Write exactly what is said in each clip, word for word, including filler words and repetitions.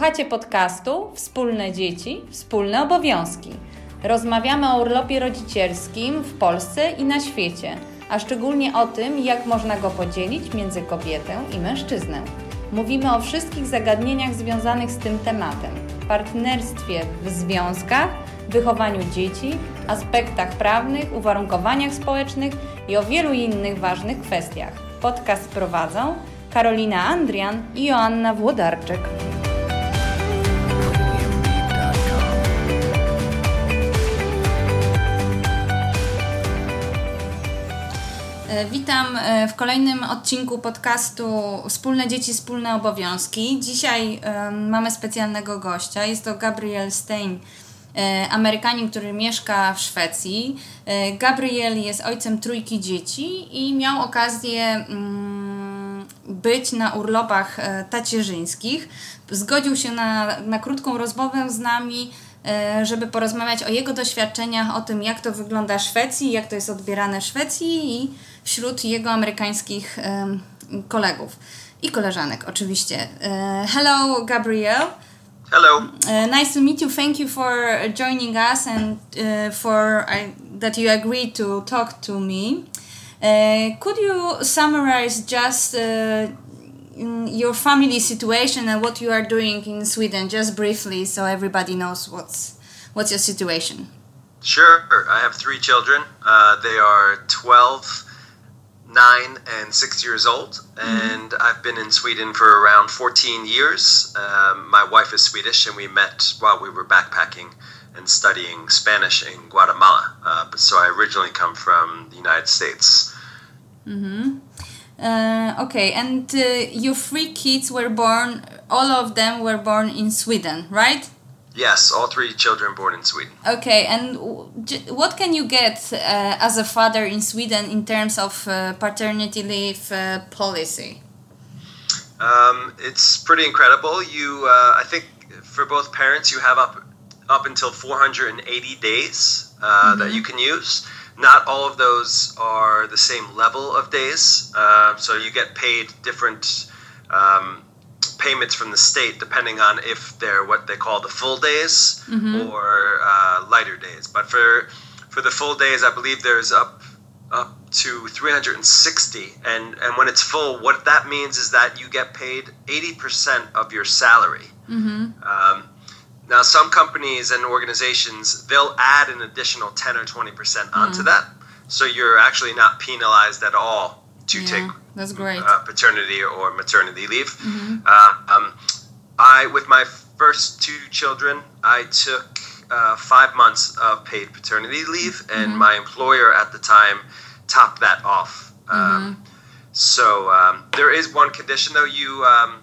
Słuchacie podcastu Wspólne dzieci, wspólne obowiązki. Rozmawiamy o urlopie rodzicielskim w Polsce i na świecie, a szczególnie o tym, jak można go podzielić między kobietę i mężczyznę. Mówimy o wszystkich zagadnieniach związanych z tym tematem, partnerstwie w związkach, wychowaniu dzieci, aspektach prawnych, uwarunkowaniach społecznych i o wielu innych ważnych kwestiach. Podcast prowadzą Karolina Andrian i Joanna Włodarczyk. Witam w kolejnym odcinku podcastu Wspólne dzieci, wspólne obowiązki. Dzisiaj um, mamy specjalnego gościa. Jest to Gabriel Stein, e, Amerykanin, który mieszka w Szwecji. E, Gabriel jest ojcem trójki dzieci i miał okazję um, być na urlopach e, tacierzyńskich. Zgodził się na, na krótką rozmowę z nami, żeby porozmawiać o jego doświadczeniach, o tym, jak to wygląda w Szwecji, jak to jest odbierane w Szwecji i wśród jego amerykańskich um, kolegów i koleżanek oczywiście. Uh, hello, Gabriel. Hello. Uh, nice to meet you. Thank you for joining us and uh, for uh, that you agreed to talk to me. Uh, could you summarize just uh, your family situation and what you are doing in Sweden, just briefly, so everybody knows what's what's your situation? Sure. I have three children. Uh, they are twelve, nine, and six years old, and mm-hmm. I've been in Sweden for around fourteen years. Um, my wife is Swedish, and we met while we were backpacking and studying Spanish in Guatemala. Uh, but so I originally come from the United States. Mm-hmm. Uh, okay, and uh, your three kids were born, all of them were born in Sweden, right? Yes, all three children born in Sweden. Okay, and what can you get uh, as a father in Sweden in terms of uh, paternity leave uh, policy? Um, it's pretty incredible. You, uh, I think for both parents, you have up, up until four hundred eighty days uh, mm-hmm. that you can use. Not all of those are the same level of days, uh, so you get paid different um, payments from the state depending on if they're what they call the full days mm-hmm. or uh, lighter days. But for for the full days, I believe there's up up to three hundred sixty, and and when it's full, what that means is that you get paid eighty percent of your salary. Mm-hmm. Um, Now, some companies and organizations, they'll add an additional ten or twenty percent onto mm. that. So you're actually not penalized at all to yeah, take that's great. Uh, paternity or maternity leave. Mm-hmm. Uh, um, I, with my first two children, I took uh, five months of paid paternity leave, and mm-hmm. my employer at the time topped that off. Um, mm-hmm. So um, there is one condition, though. You... Um,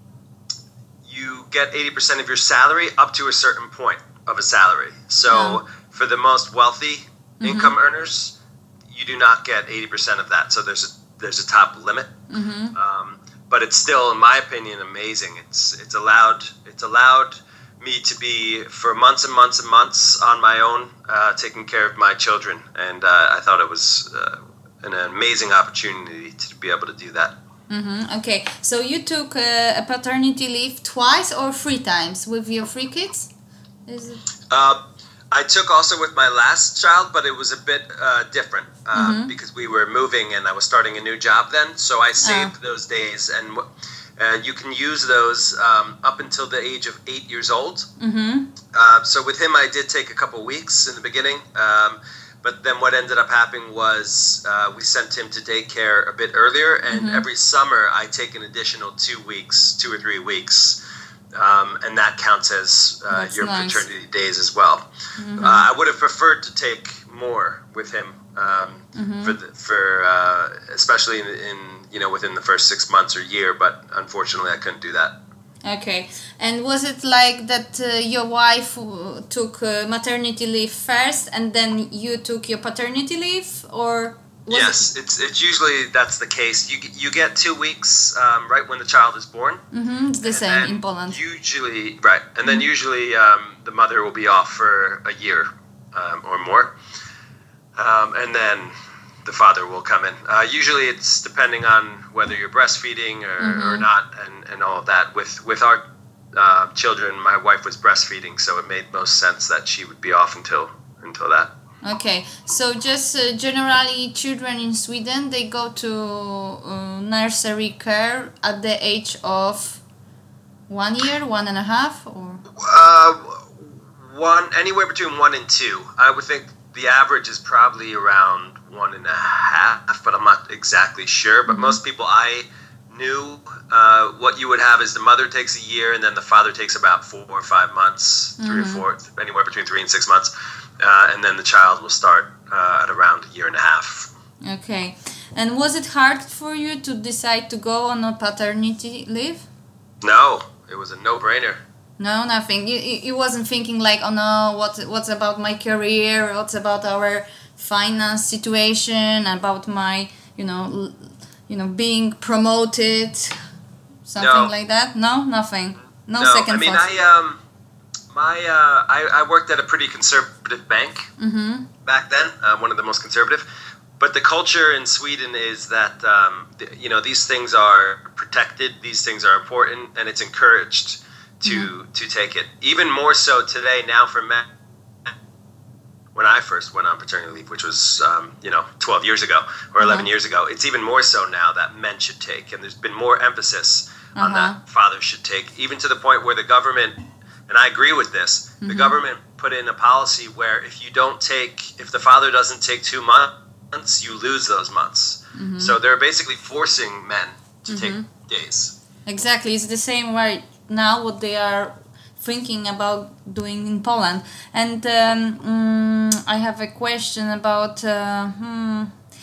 you get eighty percent of your salary up to a certain point of a salary. So oh. for the most wealthy mm-hmm. income earners, you do not get eighty percent of that. So there's a there's a top limit. Mm-hmm. Um, but it's still, in my opinion, amazing. It's it's allowed it's allowed me to be for months and months and months on my own, uh, taking care of my children. And uh, I thought it was uh, an amazing opportunity to be able to do that. Mm-hmm. Okay, so you took uh, a paternity leave twice or three times with your three kids? Is it? Uh, I took also with my last child, but it was a bit uh, different uh, mm-hmm. because we were moving and I was starting a new job then. So I saved oh. those days, and uh, you can use those um, up until the age of eight years old. Mm-hmm. Uh, so with him, I did take a couple weeks in the beginning. Um, But then what ended up happening was uh, we sent him to daycare a bit earlier, and mm-hmm. every summer I take an additional two weeks, two or three weeks, um, and that counts as uh, your nice. paternity days as well. Mm-hmm. Uh, I would have preferred to take more with him, um, mm-hmm. for the, for uh, especially in, in you know within the first six months or year, but unfortunately I couldn't do that. Okay, and was it like that uh, your wife uh, took uh, maternity leave first and then you took your paternity leave, or? Was yes, it... it's it's usually that's the case. You you get two weeks um, right when the child is born. Mm-hmm, it's the same in Poland. Usually, right, and mm-hmm. then usually um, the mother will be off for a year um, or more, um, and then the father will come in. Uh, usually it's depending on whether you're breastfeeding or, mm-hmm. or not, and, and all of that. With with our uh, children, my wife was breastfeeding, so it made most sense that she would be off until until that. Okay, so just uh, generally children in Sweden, they go to uh, nursery care at the age of one year, one and a half, or? Uh, one, anywhere between one and two. I would think the average is probably around one and a half, but I'm not exactly sure. But mm-hmm. most people I knew, uh, what you would have is the mother takes a year, and then the father takes about four or five months, three mm-hmm. or four, anywhere between three and six months. Uh, and then the child will start uh, at around a year and a half. Okay. And was it hard for you to decide to go on a paternity leave? No, it was a no-brainer. No, nothing. You, you wasn't thinking like, oh no, what what's about my career? What's about our finance situation? About my, you know, l- you know, being promoted, something no. like that. No, nothing. No, no second I mean, thoughts. I um. My, uh, I, I worked at a pretty conservative bank mm-hmm. back then, uh, one of the most conservative. But the culture in Sweden is that, um, the, you know, these things are protected, these things are important, and it's encouraged to mm-hmm. to take it. Even more so today now for men. When I first went on paternity leave, which was, um, you know, twelve years ago or eleven uh-huh. years ago, it's even more so now that men should take. And there's been more emphasis uh-huh. on that fathers should take, even to the point where the government... And I agree with this. Mm-hmm. The government put in a policy where if you don't take, if the father doesn't take two months, you lose those months. Mm-hmm. So they're basically forcing men to mm-hmm. take days. Exactly. It's the same right now what they are thinking about doing in Poland. And um, um, I have a question about... Uh, hmm,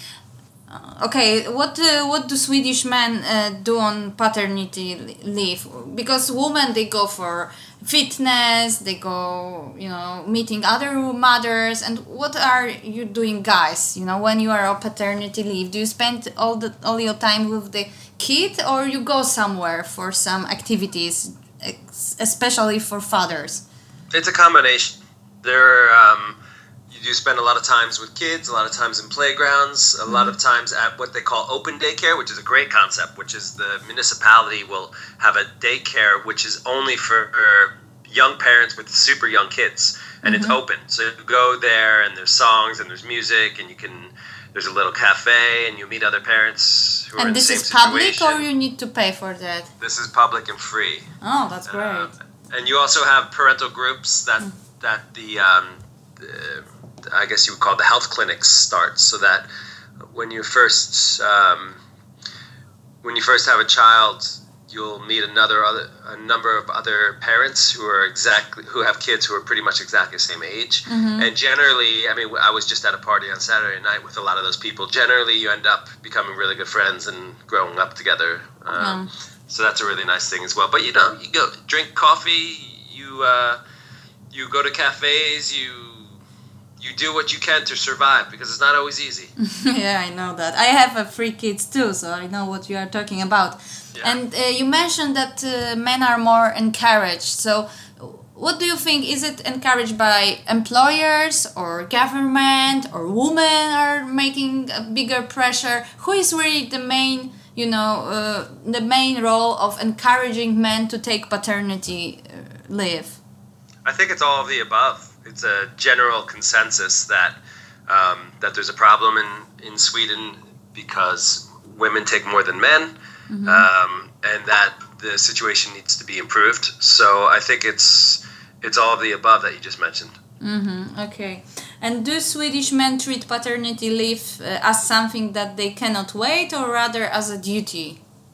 Okay, what uh, what do Swedish men uh, do on paternity leave? Because women, they go for fitness, they go, you know, meeting other mothers. And what are you doing, guys? You know, when you are on paternity leave, do you spend all the all your time with the kid, or you go somewhere for some activities, especially for fathers? It's a combination. There. Um, You spend a lot of times with kids, a lot of times in playgrounds, a mm-hmm. lot of times at what they call open daycare, which is a great concept, which is the municipality will have a daycare which is only for young parents with super young kids, and mm-hmm. it's open. So you go there, and there's songs, and there's music, and you can, there's a little cafe, and you meet other parents who and are in the same And situation. this is public, or you need to pay for that? This is public and free. Oh, that's great. Uh, and you also have parental groups that, mm. that the... Um, the I guess you would call the health clinics start, so that when you first um, when you first have a child, you'll meet another other a number of other parents who are exactly who have kids who are pretty much exactly the same age. Mm-hmm. And generally, I mean, I was just at a party on Saturday night with a lot of those people. Generally, you end up becoming really good friends and growing up together. Um, mm. So that's a really nice thing as well. But you know, you go drink coffee, you uh, you go to cafes, you. You do what you can to survive, because it's not always easy. Yeah, I know that. I have uh, three kids too, so I know what you are talking about. Yeah. And uh, you mentioned that uh, men are more encouraged. So what do you think? Is it encouraged by employers or government, or women are making a bigger pressure? Who is really the main, you know, uh, the main role of encouraging men to take paternity uh, leave? I think it's all of the above. It's a general consensus that um, that there's a problem in, in Sweden because women take more than men, mm-hmm. um, and that the situation needs to be improved. So I think it's it's all of the above that you just mentioned. Mm-hmm. Okay. And do Swedish men treat paternity leave uh, as something that they cannot wait, or rather as a duty?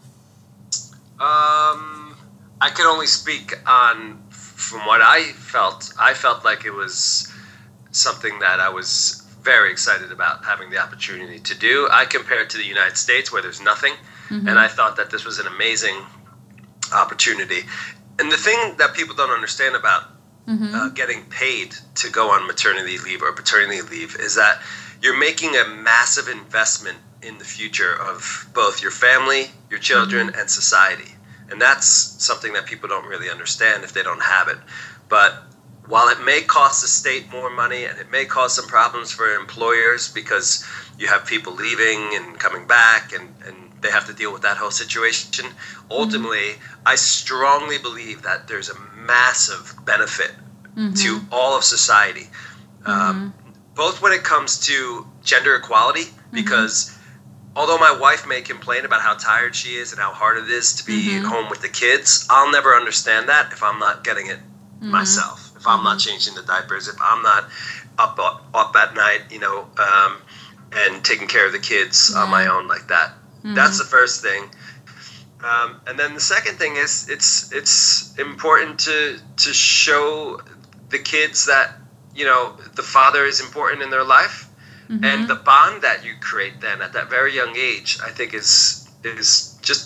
Um, I can only speak on. From what I felt, I felt like it was something that I was very excited about having the opportunity to do. I compare it to the United States, where there's nothing, mm-hmm. and I thought that this was an amazing opportunity. And the thing that people don't understand about mm-hmm. uh, getting paid to go on maternity leave or paternity leave is that you're making a massive investment in the future of both your family, your children, mm-hmm. and society. And that's something that people don't really understand if they don't have it. But while it may cost the state more money, and it may cause some problems for employers because you have people leaving and coming back, and, and they have to deal with that whole situation. Ultimately, mm-hmm. I strongly believe that there's a massive benefit mm-hmm. to all of society, mm-hmm. um, both when it comes to gender equality, because mm-hmm. although my wife may complain about how tired she is and how hard it is to be mm-hmm. home with the kids, I'll never understand that if I'm not getting it mm-hmm. myself, if I'm mm-hmm. not changing the diapers, if I'm not up up, up at night, you know, um, and taking care of the kids yeah. on my own like that. Mm-hmm. That's the first thing. Um, and then the second thing is it's it's important to to show the kids that, you know, the father is important in their life. Mm-hmm. And the bond that you create then at that very young age, I think is is just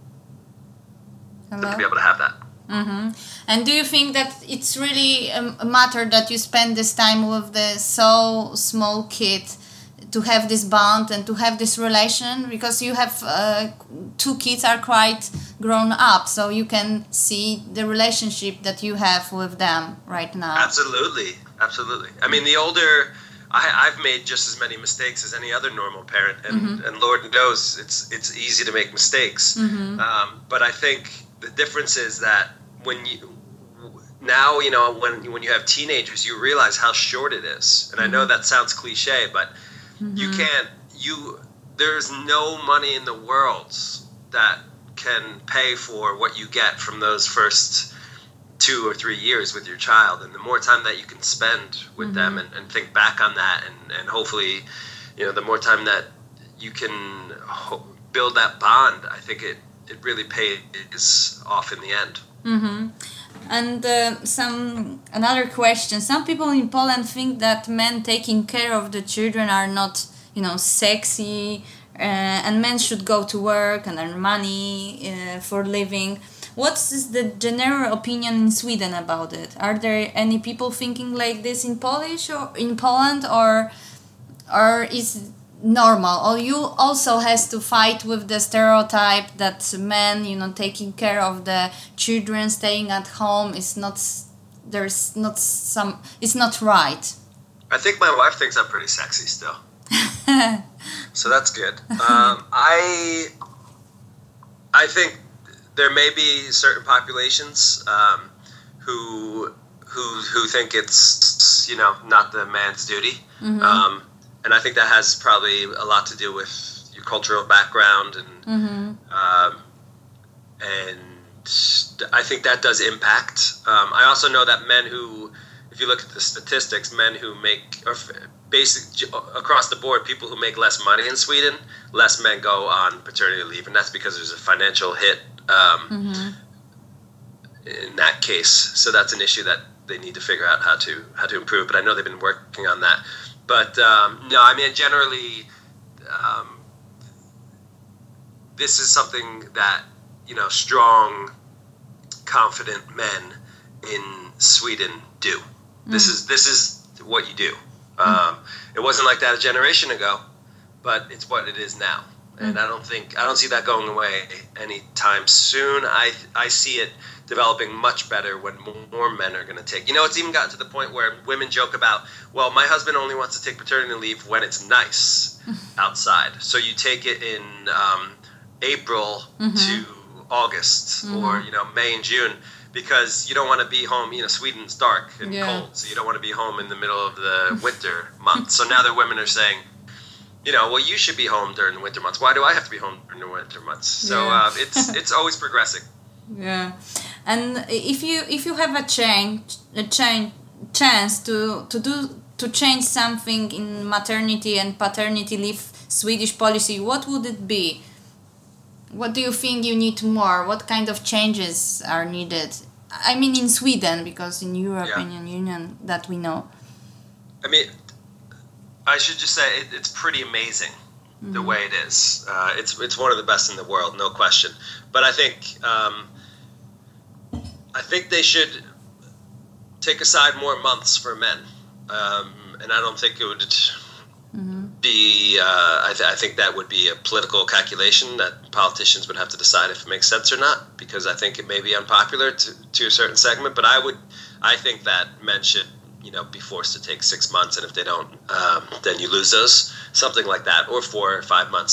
Hello? to be able to have that. Mm-hmm. And do you think that it's really a matter that you spend this time with the so small kid to have this bond and to have this relation? Because you have uh, two kids are quite grown up, so you can see the relationship that you have with them right now. Absolutely, absolutely. I mean, the older... I, I've made just as many mistakes as any other normal parent, and, mm-hmm. and Lord knows it's it's easy to make mistakes. Mm-hmm. Um, but I think the difference is that when you now you know when when you have teenagers, you realize how short it is. And mm-hmm. I know that sounds cliche, but mm-hmm. you can't you there's no money in the world that can pay for what you get from those first two or three years with your child, and the more time that you can spend with mm-hmm. them and, and think back on that, and, and hopefully, you know, the more time that you can ho- build that bond, I think it, it really pays off in the end. Mm-hmm. And uh, some another question. Some people in Poland think that men taking care of the children are not, you know, sexy, uh, and men should go to work and earn money uh, for living. What is the general opinion in Sweden about it? Are there any people thinking like this in Polish or in Poland, or or is normal? Or you also has to fight with the stereotype that men, you know, taking care of the children, staying at home is not there's not some it's not right. I think my wife thinks I'm pretty sexy still, so that's good. Um, I I think. There may be certain populations um, who who who think it's, you know, not the man's duty, mm-hmm. um, and I think that has probably a lot to do with your cultural background, and mm-hmm. um, and I think that does impact. Um, I also know that men who, if you look at the statistics, men who make or basic across the board, people who make less money in Sweden, less men go on paternity leave, and that's because there's a financial hit. Um, mm-hmm. in that case, so that's an issue that they need to figure out how to how to improve. But I know they've been working on that. But um, no, I mean generally, um, this is something that, you know, strong, confident men in Sweden do. Mm-hmm. This is this is what you do. Mm-hmm. Um, it wasn't like that a generation ago, but it's what it is now. And I don't think I don't see that going away anytime soon. I I see it developing much better when more men are going to take. You know, it's even gotten to the point where women joke about, well, my husband only wants to take paternity leave when it's nice outside. So you take it in um, April mm-hmm. to August, mm-hmm. or, you know, May and June, because you don't want to be home. You know, Sweden's dark and yeah. cold, so you don't want to be home in the middle of the winter months. So now the women are saying, you know, well, you should be home during the winter months. Why do I have to be home during the winter months? So yeah. uh, it's it's always progressing. Yeah, and if you if you have a change a change chance to to do to change something in maternity and paternity leave Swedish policy, what would it be? What do you think you need more? What kind of changes are needed? I mean, in Sweden, because in European yeah. Union that we know. I mean, I should just say it, it's pretty amazing mm-hmm. the way it is. Uh, it's it's one of the best in the world, no question. But I think um, I think they should take aside more months for men, um, and I don't think it would mm-hmm. be. Uh, I, th- I think that would be a political calculation that politicians would have to decide if it makes sense or not. Because I think it may be unpopular to to a certain segment, but I would. I think that men should, you know, be forced to take six months, and if they don't, um, then you lose those, something like that, or four or five months.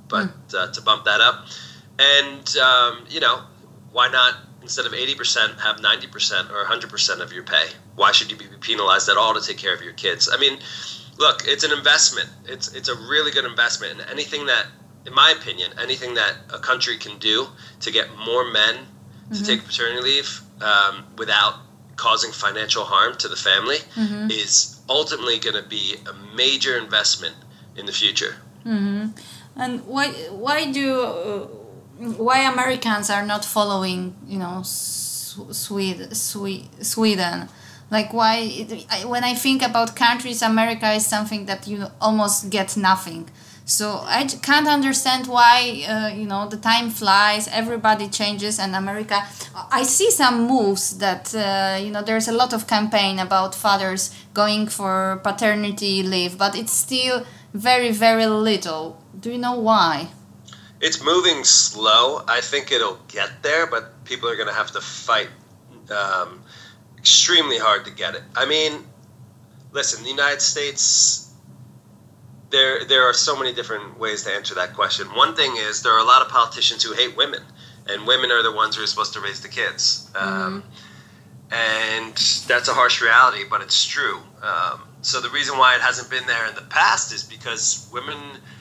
but mm. uh, to bump that up. And, um, you know, why not, instead of eighty percent, have ninety percent or one hundred percent of your pay? Why should you be penalized at all to take care of your kids? I mean, look, it's an investment. It's it's a really good investment. And anything that, in my opinion, anything that a country can do to get more men mm-hmm. to take paternity leave um, without causing financial harm to the family mm-hmm. is ultimately going to be a major investment in the future. Mm-hmm. And why why do uh, why Americans are not following, you know, Sweden, Sweden? Like why? It, I, when I think about countries, America is something that you almost get nothing. So I can't understand why, uh, you know, the time flies, everybody changes, and America... I see some moves that, uh, you know, there's a lot of campaign about fathers going for paternity leave, but it's still very, very little. Do you know why? It's moving slow. I think it'll get there, but people are going to have to fight um, extremely hard to get it. I mean, listen, the United States... There there are so many different ways to answer that question. One thing is there are a lot of politicians who hate women, and women are the ones who are supposed to raise the kids. Um, mm-hmm. And that's a harsh reality, but it's true. Um, so the reason why it hasn't been there in the past is because women,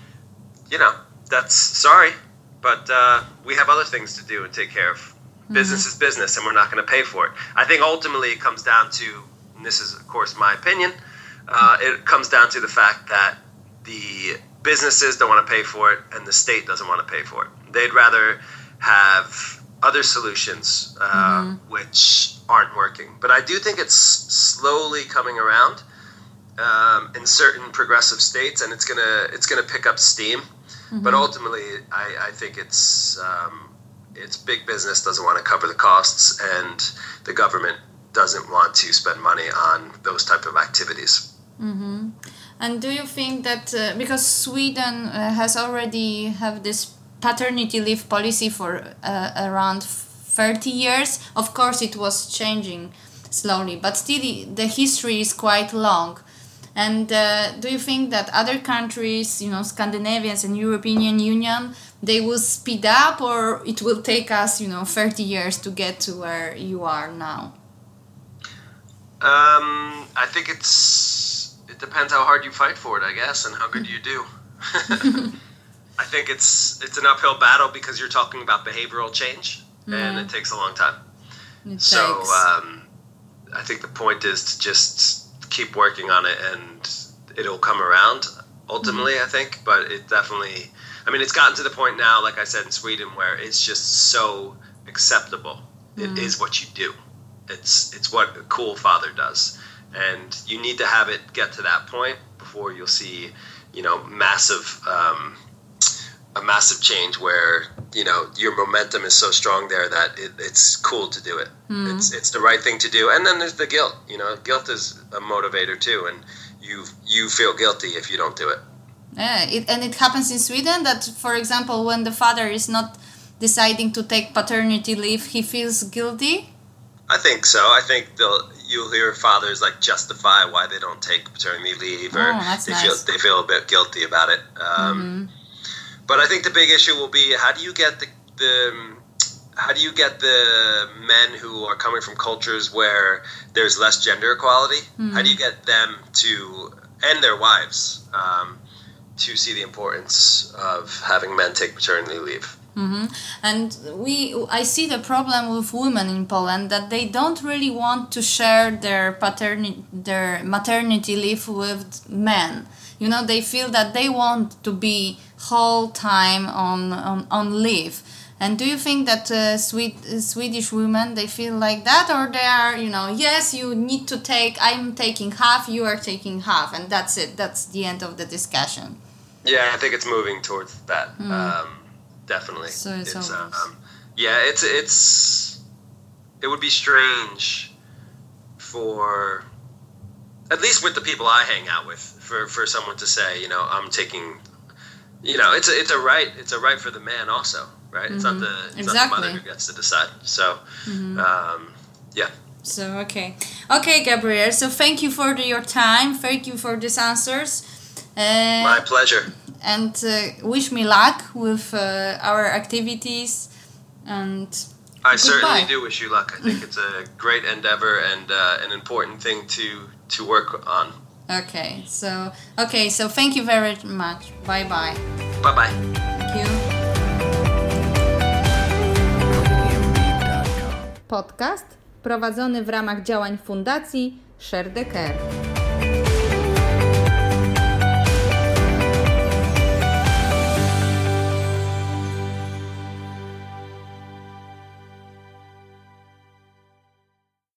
you know, that's sorry, but uh, we have other things to do and take care of. Mm-hmm. Business is business, and we're not going to pay for it. I think ultimately it comes down to, and this is, of course, my opinion, uh, it comes down to the fact that the businesses don't want to pay for it, and the state doesn't want to pay for it. They'd rather have other solutions, uh, mm-hmm. which aren't working. But I do think it's slowly coming around um, in certain progressive states, and it's gonna it's gonna pick up steam. Mm-hmm. But ultimately, I, I think it's um, it's big business doesn't want to cover the costs, and the government doesn't want to spend money on those type of activities. Mm-hmm. And do you think that uh, because Sweden uh, has already have this paternity leave policy for uh, around thirty years, of course it was changing slowly, but still the history is quite long. And uh, do you think that other countries, you know, Scandinavians and European Union, they will speed up, or it will take us, you know, thirty years to get to where you are now? Um, I think it's... It depends how hard you fight for it, I guess, and how good you do. I think it's it's an uphill battle because you're talking about behavioral change, yeah. and it takes a long time. It so um, I think the point is to just keep working on it, and it'll come around ultimately, mm-hmm. I think. But it definitely, I mean, it's gotten to the point now, like I said, in Sweden, where it's just so acceptable. Mm-hmm. It is what you do. It's it's what a cool father does. And you need to have it get to that point before you'll see, you know, massive, um, a massive change where, you know, your momentum is so strong there that it, it's cool to do it. Mm. It's it's the right thing to do. And then there's the guilt, you know, guilt is a motivator too. And you you feel guilty if you don't do it. Yeah, it, and it happens in Sweden that, for example, when the father is not deciding to take paternity leave, he feels guilty. I think so. I think they'll you'll hear fathers like justify why they don't take paternity leave, or oh, that's they nice. feel they feel a bit guilty about it. Um, mm-hmm. But I think the big issue will be how do you get the, the how do you get the men who are coming from cultures where there's less gender equality? Mm-hmm. How do you get them to, and their wives, um, to see the importance of having men take paternity leave? Mm-hmm. And we, I see the problem with women in Poland that they don't really want to share their paternity, their maternity leave with men. You know, they feel that they want to be whole time on on, on leave. And do you think that uh, Swed- Swedish women, they feel like that, or they are, you know, yes, you need to take, I'm taking half, you are taking half, and that's it. That's the end of the discussion. Yeah, I think it's moving towards that. Mm. Um, Definitely. So it's, it's um, yeah, it's it's it would be strange for, at least with the people I hang out with, for, for someone to say, you know, I'm taking, you know, it's a, it's a right it's a right for the man also, right? Mm-hmm. It's not the it's exactly. not the mother who gets to decide. So, mm-hmm. um, yeah. So okay, okay, Gabriel. So thank you for the, your time. Thank you for these answers. Uh, My pleasure. And uh, wish me luck with uh, our activities. And I goodbye. certainly do wish you luck. I think it's a great endeavor and uh, an important thing to to work on. Okay, so okay, so thank you very much. Bye bye. Bye bye. Thank you. Podcast prowadzony w ramach działań Fundacji Share the Care.